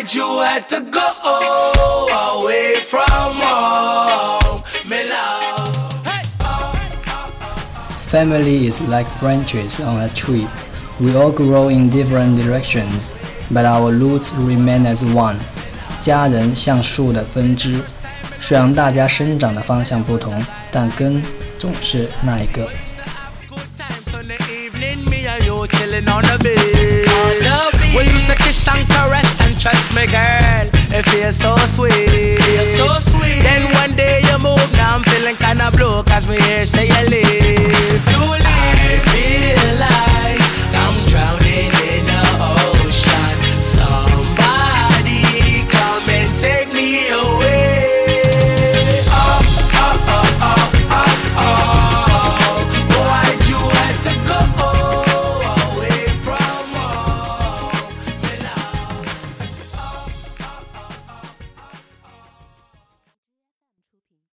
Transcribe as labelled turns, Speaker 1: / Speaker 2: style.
Speaker 1: that you had to go away from home, me love.
Speaker 2: Family is like branches on a tree. We all grow in different directions, but our roots remain as one. 家人像树的分支，虽然大家生长的方向不同，但根总是那一个。
Speaker 1: We used to kiss and caress and trust me, girl. It feels so sweet. Then one day you move, now I'm feeling kinda blue, 'cause me here say you leave. I feel like